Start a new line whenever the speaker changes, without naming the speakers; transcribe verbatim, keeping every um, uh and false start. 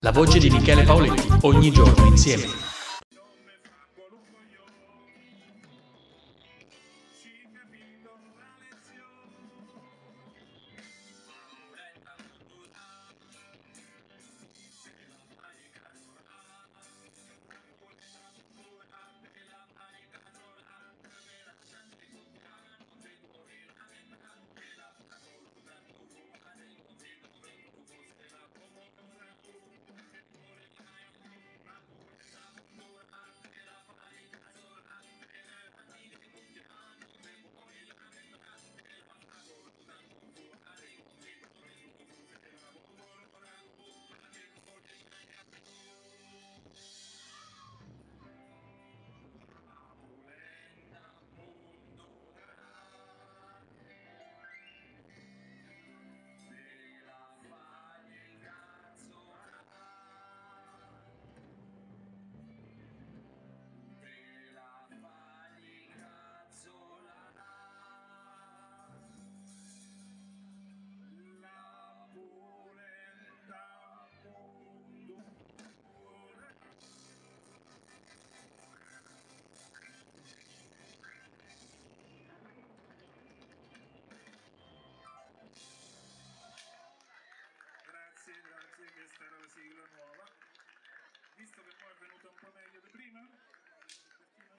La voce di Michele Paoletti, ogni giorno insieme.
Grazie, grazie, questa era la sigla nuova. Visto che poi è venuta un po' meglio di prima,